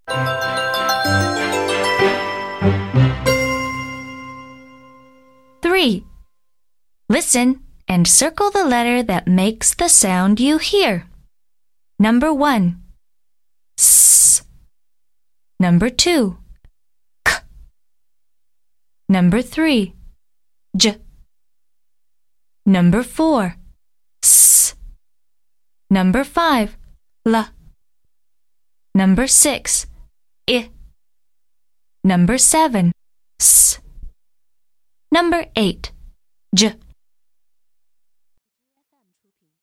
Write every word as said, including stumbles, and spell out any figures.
Three. Listen and circle the letter that makes the sound you hear. Number one, S. Number two, K. Number three, J. Number four, S. Number five, L. Number six, I. Number seven, S. Number eight, J.